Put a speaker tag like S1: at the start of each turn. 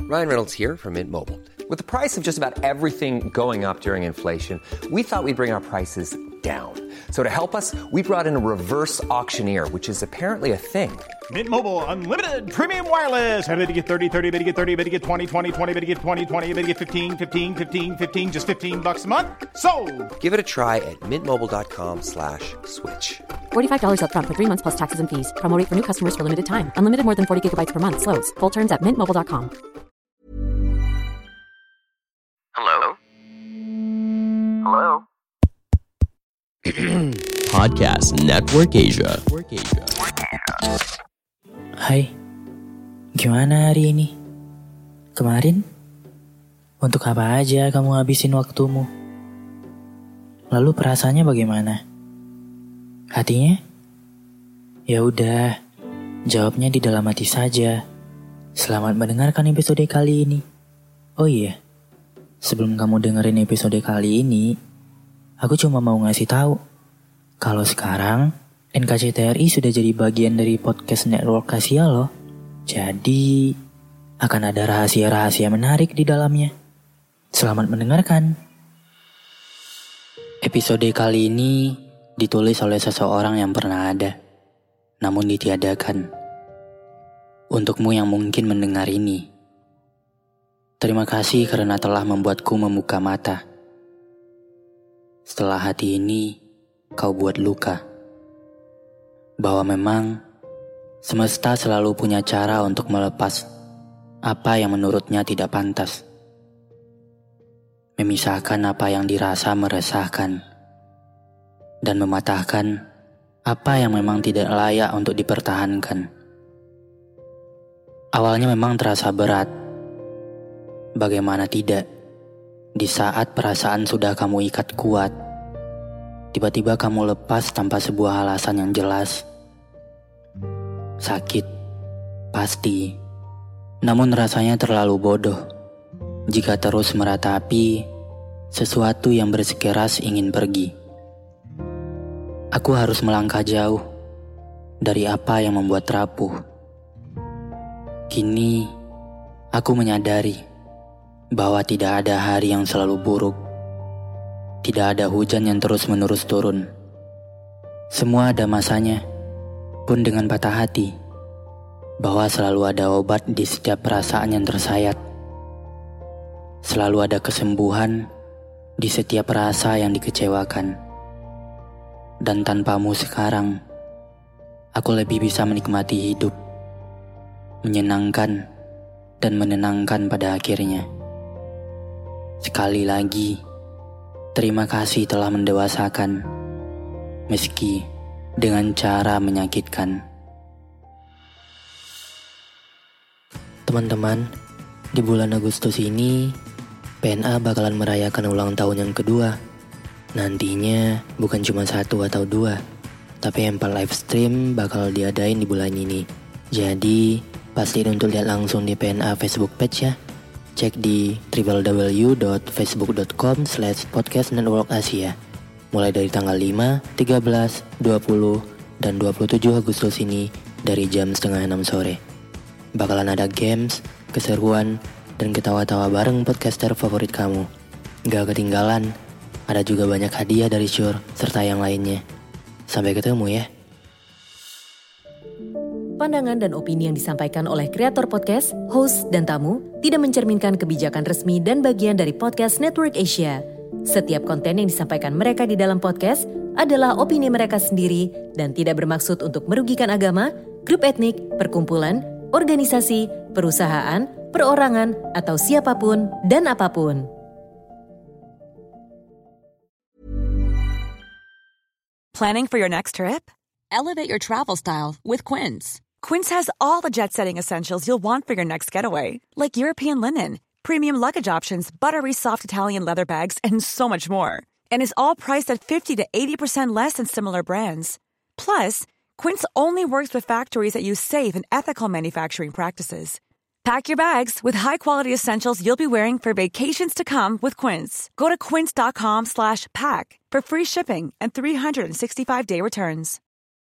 S1: Ryan Reynolds here from Mint Mobile. With the price of just about everything going up during inflation, we thought we'd bring our prices down. So to help us, we brought in a reverse auctioneer, which is apparently a thing.
S2: Mint Mobile Unlimited Premium Wireless. How to get 30, 30, bit to get 30, bit to get 20, 20, 20, bit to get 20, 20, bit to get 15, 15, 15, 15, just $15 a month? Sold!
S1: Give it a try at mintmobile.com/switch.
S3: $45 up front for 3 months plus taxes and fees. Promo rate for new customers for limited time. Unlimited more than 40 gigabytes per month. Slows full terms at mintmobile.com.
S4: Hello? Hello?
S5: Podcast Network Asia.
S6: Hai, gimana hari ini? Kemarin? Untuk apa aja kamu habisin waktumu? Lalu perasaannya bagaimana? Hatinya? Ya udah, jawabnya di dalam hati saja. Selamat mendengarkan episode kali ini. Oh iya, sebelum kamu dengerin episode kali ini, aku cuma mau ngasih tahu kalau sekarang NKCTRI sudah jadi bagian dari podcast Network Asia loh. Jadi akan ada rahasia-rahasia menarik di dalamnya. Selamat mendengarkan. Episode kali ini ditulis oleh seseorang yang pernah ada, namun ditiadakan. Untukmu yang mungkin mendengar ini, terima kasih karena telah membuatku membuka mata. Setelah hati ini kau buat luka, bahwa memang semesta selalu punya cara untuk melepas apa yang menurutnya tidak pantas, memisahkan apa yang dirasa meresahkan, dan mematahkan apa yang memang tidak layak untuk dipertahankan. Awalnya memang terasa berat. Bagaimana tidak, di saat perasaan sudah kamu ikat kuat, tiba-tiba kamu lepas tanpa sebuah alasan yang jelas. Sakit, pasti. Namun rasanya terlalu bodoh jika terus meratapi sesuatu yang bersikeras ingin pergi. Aku harus melangkah jauh dari apa yang membuat rapuh. Kini, aku menyadari bahwa tidak ada hari yang selalu buruk. Tidak ada hujan yang terus-menerus turun. Semua ada masanya, pun dengan patah hati, bahwa selalu ada obat di setiap perasaan yang tersayat. Selalu ada kesembuhan di setiap rasa yang dikecewakan. Dan tanpamu sekarang, aku lebih bisa menikmati hidup, menyenangkan dan menenangkan pada akhirnya. Sekali lagi, terima kasih telah mendewasakan, meski dengan cara menyakitkan. Teman-teman, di bulan Agustus ini, PNA bakalan merayakan ulang tahun yang kedua. Nantinya bukan cuma 1 atau 2, tapi 4 live stream bakal diadain di bulan ini. Jadi, pastiin untuk lihat langsung di PNA Facebook page ya. Cek di www.facebook.com/podcastnetworkasia. Mulai dari tanggal 5, 13, 20, dan 27 Agustus ini dari jam 5:30 sore. Bakalan ada games, keseruan, dan ketawa-tawa bareng podcaster favorit kamu. Gak ketinggalan, ada juga banyak hadiah dari Shure serta yang lainnya. Sampai ketemu ya.
S7: Pandangan dan opini yang disampaikan oleh kreator podcast, host, dan tamu tidak mencerminkan kebijakan resmi dan bagian dari podcast Network Asia. Setiap konten yang disampaikan mereka di dalam podcast adalah opini mereka sendiri dan tidak bermaksud untuk merugikan agama, grup etnik, perkumpulan, organisasi, perusahaan, perorangan, atau siapapun dan apapun.
S8: Planning for your next trip? Elevate your travel style with Quince. Quince has all the jet-setting essentials you'll want for your next getaway, like European linen, premium luggage options, buttery soft Italian leather bags, and so much more. And is all priced at 50 to 80% less than similar brands. Plus, Quince only works with factories that use safe and ethical manufacturing practices. Pack your bags with high-quality essentials you'll be wearing for vacations to come with Quince. Go to quince.com/pack for free shipping and 365-day returns.